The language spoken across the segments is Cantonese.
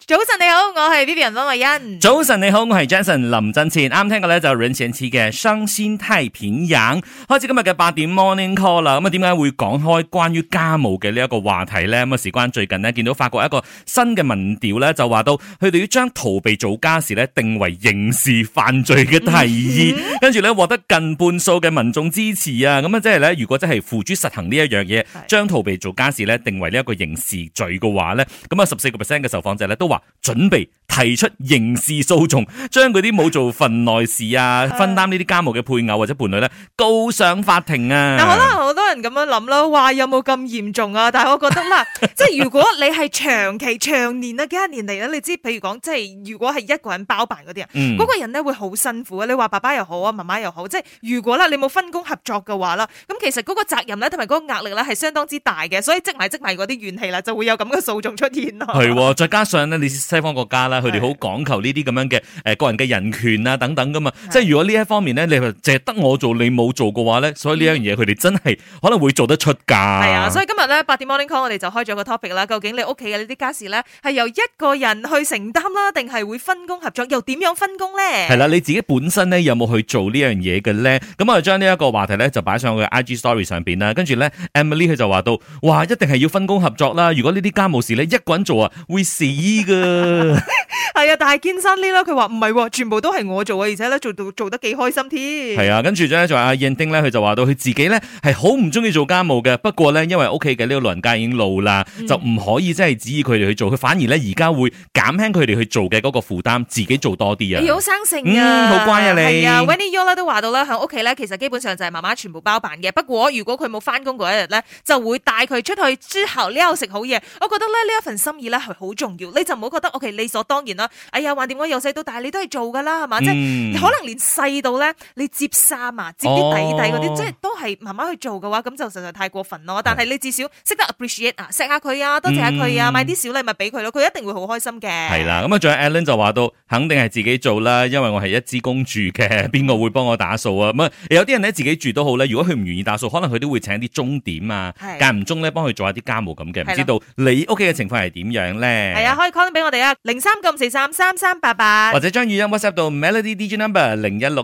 早晨你好，我係 Vivian 溫慧欣。 早晨你好，我係 Jason 林振前。啱聽過咧就任賢齊嘅《傷心太平洋》。開始今日嘅8點 Morning Call 啦。咁啊，點解會講開關於家務嘅呢一個話題咧？咁啊，事關最近呢，見到法國一個新嘅民調咧，就話到佢哋要將逃避做家事咧定為刑事犯罪嘅提議，跟住咧獲得近半數嘅民眾支持啊。咁啊，即係咧，如果真係付諸實行呢一樣嘢，將逃避做家事咧定為呢一個刑事罪嘅話咧，咁啊14% 嘅受訪者咧都話準備提出刑事訴訟，將嗰啲冇做份內事啊、分擔呢啲家務嘅配偶或者伴侶咧告上法庭啊。 嗱，可能好多人咁樣諗啦，話有冇咁嚴重啊？但係我覺得啦，即係如果你係長期、長年啊幾多年嚟咧，你知，譬如講，即係如果係一個人包辦嗰啲啊，嗰個人咧會好辛苦啊。你話爸爸又好啊，媽媽又好，即係如果啦你冇分工合作嘅話啦，咁其實嗰個責任咧同埋嗰個壓力咧係相當之大嘅，所以積埋嗰啲怨氣啦，就會有咁嘅訴訟出現咯。 係，再加上咧，你西方國家啦，佢哋好講求呢啲咁樣嘅個人嘅人權啊等等噶嘛，即係如果呢一方面咧，你淨係得我做，你冇做嘅話咧，所以呢樣嘢佢哋真係可能會做得出噶。係啊，所以今日咧8點 Morning Call 我哋就開咗個 topic 啦，究竟你屋企嘅呢啲家事咧係由一個人去承擔啦，定係會分工合作？又點樣分工咧？ 係啦，你自己本身咧有冇去做呢樣嘢嘅咧？咁我就將呢一個話題咧就擺上去 IG Story 上邊啦，跟住咧 Emily 佢就話到，哇，一定係要分工合作啦！如果呢啲家務事咧一個人做啊，會死噶。 係啊，但係堅生呢啦，佢話唔係，全部都係我做啊，而且咧做得幾開心添。 係啊，跟住咧就阿燕丁咧，佢就話到佢自己咧係好唔中意做家務嘅，不過咧因為屋企嘅呢個老人家已經老啦，就唔可以即係指意佢哋去做，佢反而咧而家會減輕佢哋去做嘅嗰個負擔，自己做多啲啊。 你好生性啊， 好乖啊你。 係啊 Winnie Yo 都話到啦，喺屋企咧其實基本上就係媽媽全部包辦嘅，不過如果佢冇翻工嗰一日咧，就會帶佢出去之後呢度食好嘢。我覺得咧呢一份心意咧係好重要，你就唔好覺得 OK 理所當然啦。哎呀，橫掂我由細到大你都係做噶啦，係嘛？即係可能連細到咧你摺衫啊、摺啲底嗰啲，即係都係媽媽去做嘅話，咁就實在太過分咯。但係你至少識得 appreciate 啊，錫下佢啊，多謝下佢啊，買啲小禮物俾佢咯，佢一定會好開心嘅。 係啦，咁啊，仲有 Alan 就話到，肯定係自己做啦，因為我係一支公住嘅，邊個會幫我打掃啊？咁啊，有啲人咧自己住都好咧，如果佢唔願意打掃，可能佢都會請啲鐘點啊，間唔中咧幫佢做下啲家務咁嘅。唔知道你屋企嘅情況係點樣咧？ 係啊，可以 call 俾我哋啊，0394333388， 或者將語音 WhatsApp 到 Melody DJ Number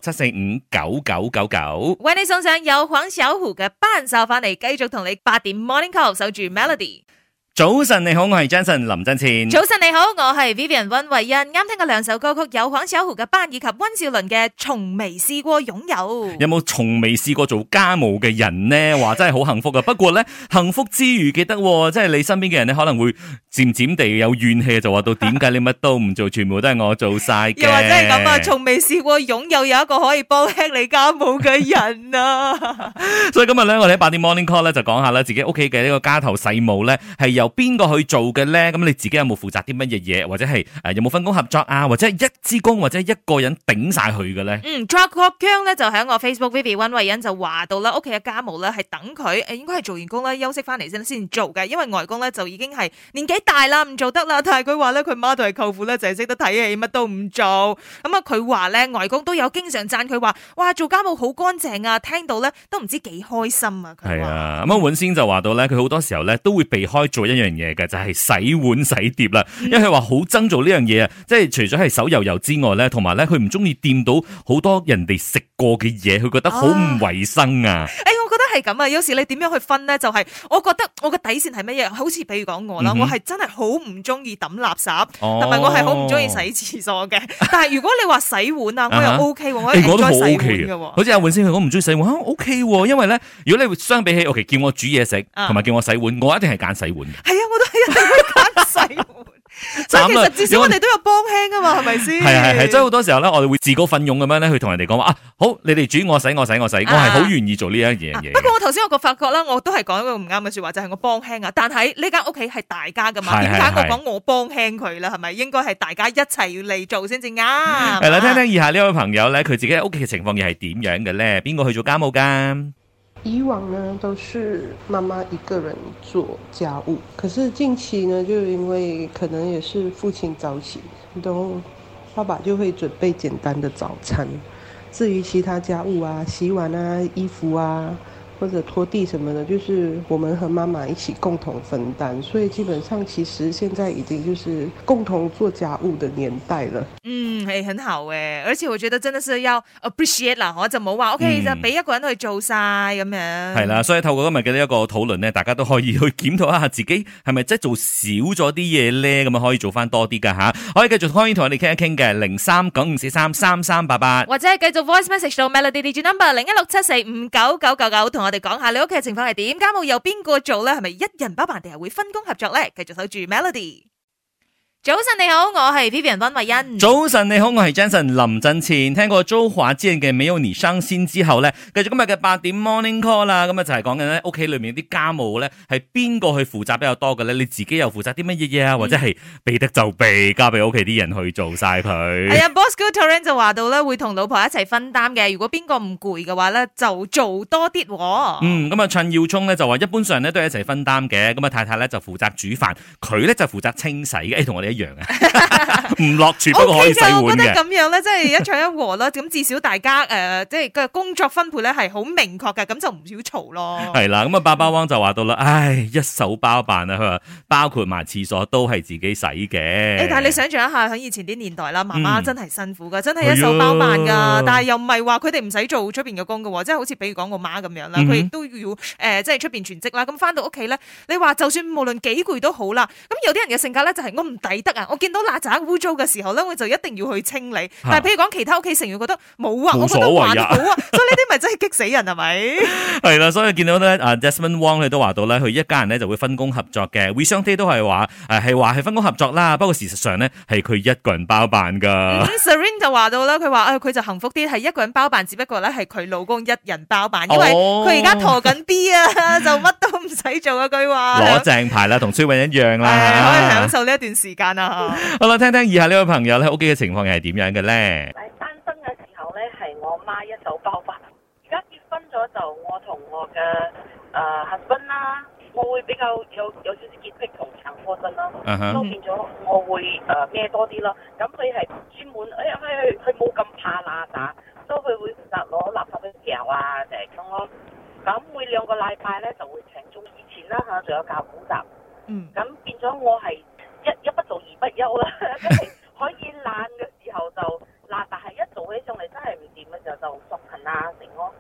0167459999， 為你送上有黃小琥嘅班手翻嚟，繼續同你8點 Morning Call 守住 Melody。 早晨你好，我係 Jason 林振前。 早晨你好，我係 Vivian 溫慧欣。啱聽過兩首歌曲，有黃小琥嘅班以及溫兆倫嘅從未試過擁有。 有冇從未試過做家務嘅人呢？話真係好幸福噶。不過咧，幸福之餘記得，即係你身邊嘅人咧，可能會漸漸地有怨氣，就話到點解你乜都唔做，全部都係我做晒嘅。 又或者係咁啊，從未試過擁有一個可以幫輕你家務嘅人啊。 所以今日咧，我哋喺8點 Morning Call 咧就講下啦，自己屋企嘅呢個家頭細務咧係由邊個去做嘅咧？咁你自己有冇負責啲乜嘢嘢，或者係有冇分工合作啊？或者係一支公或者一個人頂晒佢嘅咧 ？Jack 姜咧就喺我 Facebook Vivian 溫慧欣就話到啦，屋企嘅家務咧係等佢應該係做完工咧休息翻嚟先做嘅，因為外公咧就已經係年紀大啦，唔做得啦。但係佢話咧佢媽同埋舅父咧就係識得睇戲，乜都唔做。咁啊佢話咧外公都有經常讚佢話，哇做家務好乾淨啊，聽到咧都唔知幾開心啊。 係啊，咁啊尹先就話到咧，佢好多時候咧都會避開做一樣嘢嘅，就係洗碗洗碟啦，因為佢話好憎做呢樣嘢啊，即係除咗係手油油之外咧，同埋咧佢唔中意掂到好多人哋食過嘅嘢，佢覺得好唔衛生啊。 我覺得係咁啊，有時你點樣去分咧？就係我覺得我嘅底線係乜嘢？好似譬如講我啦，我係真係好唔中意抌垃圾，同埋我係好唔中意洗廁所嘅。但係如果你話洗碗啊，我又 OK 喎，我應該洗碗嘅。 好似阿尹先佢講唔中意洗碗，OK 喎，因為咧如果你相比起，OK 叫我煮嘢食，同埋叫我洗碗，我一定係揀洗碗嘅。 係啊，我都係一定會揀洗碗。所以其實至少我哋都有幫輕啊嘛，係咪先？ 係，即係好多時候咧，我哋會自告奮勇咁樣咧去同人哋講話啊，好，你哋煮我洗，我係好願意做呢一樣嘢。 不過我頭先我個發覺啦，我都係講一個唔啱嘅說話，就係我幫輕啊。但係呢間屋企係大家噶嘛，點解我講我幫輕佢啦？係咪應該係大家一齊要嚟做先至啱？ 係啦，聽聽以下呢位朋友咧，佢自己喺屋企嘅情況又係點樣嘅咧？邊個去做家務噶？ 以往呢都是媽媽一個人做家務，可是近期呢就因為可能也是父親早起，都爸爸就會準備簡單的早餐，至於其他家務啊，洗碗啊、衣服啊， 或者拖地什麼的，就是我們和媽媽一起共同分擔，所以基本上其實現在已經就是共同做家務的年代了。 係很好誒，而且我覺得真的是要 appreciate 啦，我就冇話 OK 就俾一個人去做晒咁樣。 係啦，所以透過今日嘅呢一個討論咧，大家都可以去檢討一下自己係咪真係做少咗啲嘢咧，咁啊可以做翻多啲噶吓，可以繼續可以同我哋傾一傾嘅0395433388， 或者係繼續 voice message 到 Melody DJ number 0167459999，同我哋講下你屋企嘅情況係點，家務由邊個做咧？係咪一人包辦定係會分工合作咧？繼續守住 Melody。早晨你好，我係 Vivian 溫慧欣。 早晨你好，我係 Jensen 林振前。聽過周華健嘅《沒有你傷心》之後咧，繼續今日嘅8點 Morning Call 啦。咁啊就係講緊咧屋企裏面啲家務咧係邊個去負責比較多嘅咧？你自己又負責啲乜嘢嘢啊？或者係避得就避，交俾屋企啲人去做晒佢。 係啊，Bosco Torrent 就話到咧會同老婆一齊分擔嘅。如果邊個唔攰嘅話咧，就做多啲。 咁啊陳耀聰咧就話一般上咧都係一齊分擔嘅。咁啊太太咧就負責煮飯，佢咧就負責清洗嘅。同我哋一樣啊，唔落廚不過可以洗碗嘅。 我覺得咁樣咧，即係一唱一和啦。咁至少大家即係個工作分配咧係好明確嘅，咁就唔少嘈咯。 係啦，咁啊爸爸汪就話到啦，唉，一手包辦啊，佢話包括埋廁所都係自己洗嘅。 但係你想象一下喺以前啲年代啦，媽媽真係辛苦噶，真係一手包辦噶。但係又唔係話佢哋唔使做出邊嘅工噶，即係好似比如講我媽咁樣啦，佢亦都要即係出邊全職啦。咁翻到屋企咧，你話就算無論幾攰都好啦。咁有啲人嘅性格咧就係我唔抵得啊，我見到邋遢污糟嘅時候咧，我就一定要去清理。但係譬如講其他屋企成員覺得冇啊，我覺得還好啊，所以呢啲咪真係激死人係咪？ 係啦，所以見到咧Desmond Wong 佢都話到咧，佢一家人咧就會分工合作嘅。We 相 Day 都係話係分工合作啦，不過事實上咧係佢一個人包辦噶。 Serene 就話到啦，佢話佢就幸福啲，係一個人包辦，只不過咧係佢老公一人包辦，因為佢而家陀緊 B 啊，就乜都唔使做啊。佢話攞正牌啦，同崔允一樣啦， 可以享受呢一段時間啊。 好啦，聽聽以下呢位朋友咧屋企嘅情況係點樣嘅咧？ 單身嘅時候咧，係我媽一手包辦。而家結婚咗就我同我嘅husband 啦，我會比較有少少潔癖同強迫症啦，都變咗我會孭多啲咯。咁佢係專門佢冇咁怕邋遢，所以佢會負責攞垃圾去掉啊，就係咁咯。咁每2個禮拜咧就會請中以前啦嚇，仲有教補習。咁變咗我係一不做二不休啦，即係可以懶嘅時候就懶，但係一做起上嚟真係唔掂嘅時候就索勤啊成咯。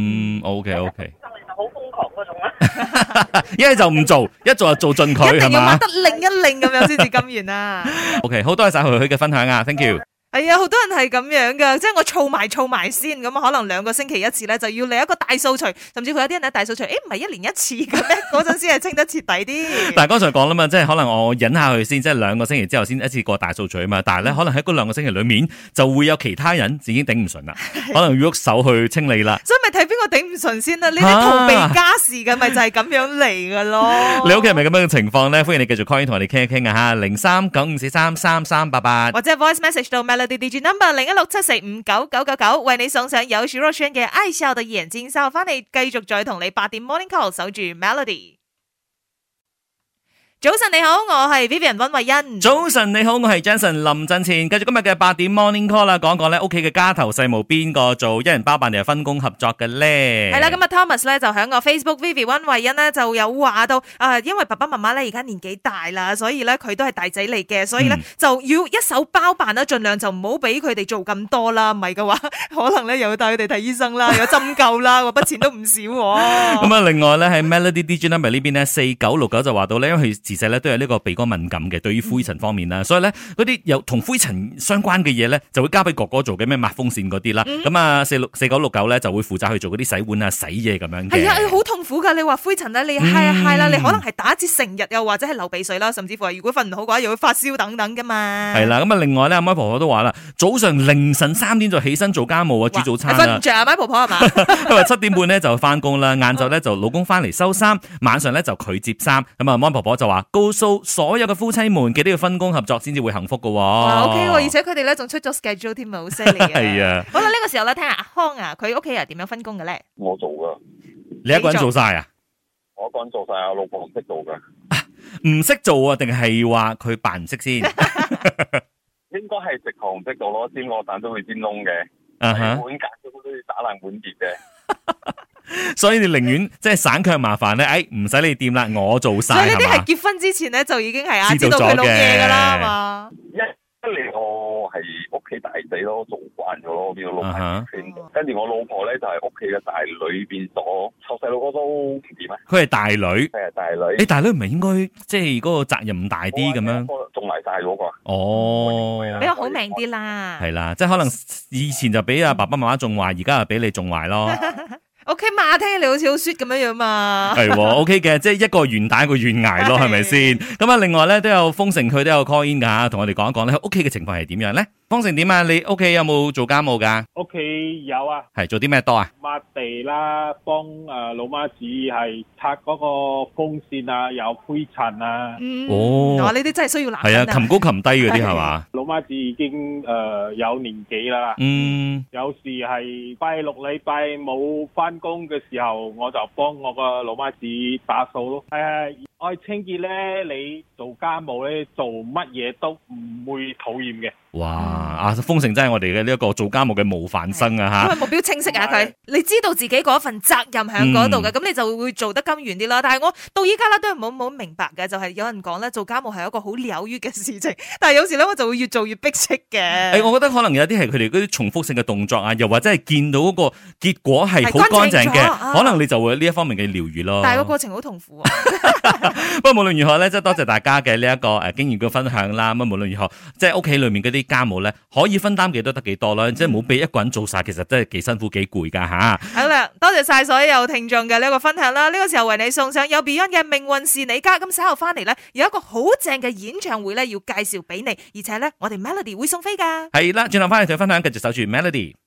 OK。 上嚟就好瘋狂嗰種啦。 一係就唔做，一做就做盡佢， 一定要係嘛？ 掹得擰一擰咁樣先至甘願啊。 OK， 好多謝晒佢嘅分享啊 ，thank you。 係啊，好多人係咁樣噶，即係我儲埋先，咁可能2個星期一次咧，就要嚟一個大掃除，甚至乎有啲人咧大掃除，唔係1年1次嘅咩？嗰陣先係清得徹底啲。但係剛才講啦嘛，即係可能我忍下佢先，即係2個星期之後先一次過大掃除啊嘛。但係咧，可能喺嗰2個星期裏面就會有其他人已經頂唔順啦，可能要喐手去清理啦。 所以咪睇邊個頂唔順先啦？呢啲逃避家事嘅咪就係咁樣嚟噶咯。 你屋企係咪咁樣嘅情況咧？歡迎你繼續 call 同我哋傾一傾啊吓，0395433388， 或者 voice message 到 Melody DJ number 0167459999，為你送上有許若瑄嘅《愛笑的眼睛》，稍後翻嚟繼續再同你8點 Morning Call 守住 Melody。早晨你好，我係 Vivian 溫慧欣。 早晨你好，我係 Jensen 林振前。繼續今日嘅8點 Morning Call 啦，講講咧屋企嘅家頭細務邊個做，一人包辦定係分工合作嘅咧？ 係啦，咁啊 Thomas 咧就喺個 Facebook Vivian 溫慧欣咧就有話到因為爸爸媽媽咧而家年紀大啦，所以咧佢都係大仔嚟嘅，所以咧就要一手包辦啦，盡量就唔好俾佢哋做咁多啦，唔係嘅話可能咧又要帶佢哋睇醫生啦，有針灸啦，嗰筆錢都唔少。 咁啊，另外咧喺 Melody DJ number 呢邊咧4969就話到咧，因為佢自細咧都有呢個鼻哥敏感嘅，對於灰塵方面啦，所以咧嗰啲有同灰塵相關嘅嘢咧，就會交俾哥哥做嘅，咩抹風扇嗰啲啦。咁啊4969咧就會負責去做嗰啲洗碗啊、洗嘢咁樣嘅。係啊，好痛苦噶！你話灰塵咧，你揩啦，你可能係打一次成日，又或者係流鼻水啦，甚至乎係如果瞓唔好嘅話，又會發燒等等噶嘛。係啦，咁啊，另外咧，阿媽婆婆都話啦，早上凌晨3點就起身做家務啊，煮早餐啊。 瞓唔着啊，媽婆婆係嘛？ 佢話7點半咧就翻工啦，晏晝咧就老公翻嚟收衫，晚上咧就佢接衫。咁啊，媽婆婆就話告訴所有嘅夫妻們，記得要分工合作先至會幸福噶。 OK， 而且佢哋咧仲出咗 schedule 添啊，好犀利啊。 係啊。 好啦，呢個時候咧，聽下阿康啊，佢屋企人點樣分工嘅咧？ 我做噶。 你一個人做晒啊？ 我一個人做晒，我老婆唔識做噶。 唔識做啊？定係話佢扮唔識先？ 應該係直行唔識做咯，煎鵝蛋都會煎燶嘅，碗格都要打爛碗碟嘅。 所以你寧願即係省卻麻煩咧，唔使你掂啦，我做晒。 所以呢啲係嘛係結婚之前咧就已經係知道佢老嘢噶啦，係嘛？ 一嚟我係屋企大仔咯，做慣咗咯，變咗老闆圈。跟住我老婆咧就係屋企嘅大女，變咗湊細路哥都唔掂啊。 佢係大女， 係大女。 大女唔係應該即係嗰個責任大啲咁樣？ 仲埋晒嗰個。 哦， 比較好命啲啦。 係啦，即係可能以前就俾阿爸爸媽媽縱壞，而家就俾你縱壞咯。 OK 嘛，聽起嚟好似好 sweet 咁樣樣嘛。 係，OK 嘅，即係一個願打一個願挨咯，係咪先？咁啊，另外咧都有豐盛，佢都有 call in 噶，同我哋講一講咧，屋企嘅情況係點樣咧？豐盛點啊？你屋企有冇做家務噶？ 屋企有啊， 係做啲咩多啊？ 抹地啦，幫老媽子係拆嗰個風扇啊，有灰塵啊。 哇！呢啲真係需要男人係啊，擒高擒低嗰啲係嘛？ 老媽子已經有年紀啦。有時係拜六禮拜冇翻工嘅時候，我就幫我個老媽子打掃咯。愛清潔咧，你做家務咧，做乜嘢都唔會討厭嘅。 哇！阿豐盛真係我哋嘅呢一個做家務嘅模範生啊吓， 因為目標清晰啊佢，你知道自己嗰份責任喺嗰度嘅，咁你就會做得甘願啲啦。但係我到依家咧都係冇明白嘅，就係有人講咧做家務係一個好療愈嘅事情，但係有時咧我就會越做越逼迫嘅。 我覺得可能有啲係佢哋嗰啲重複性嘅動作啊，又或者係見到嗰個結果係好乾淨嘅，可能你就會呢一方面嘅療愈咯。 但係個過程好痛苦啊。 不過無論如何咧，即係多謝大家嘅呢一個經驗嘅分享啦。咁無論如何，即係屋企裏面嗰啲家務咧，可以分擔幾多得幾多啦。即係冇俾一個人做晒，其實真係幾辛苦幾攰噶吓。 好啦，多謝晒所有聽眾嘅呢一個分享啦。呢個時候為你送上有 Beyond 嘅《命運是你家》。咁稍後翻嚟咧，有一個好正嘅演唱會咧，要介紹俾你，而且咧我哋 Melody 會送飛噶。 係啦，轉頭翻嚟再分享，繼續守住 Melody。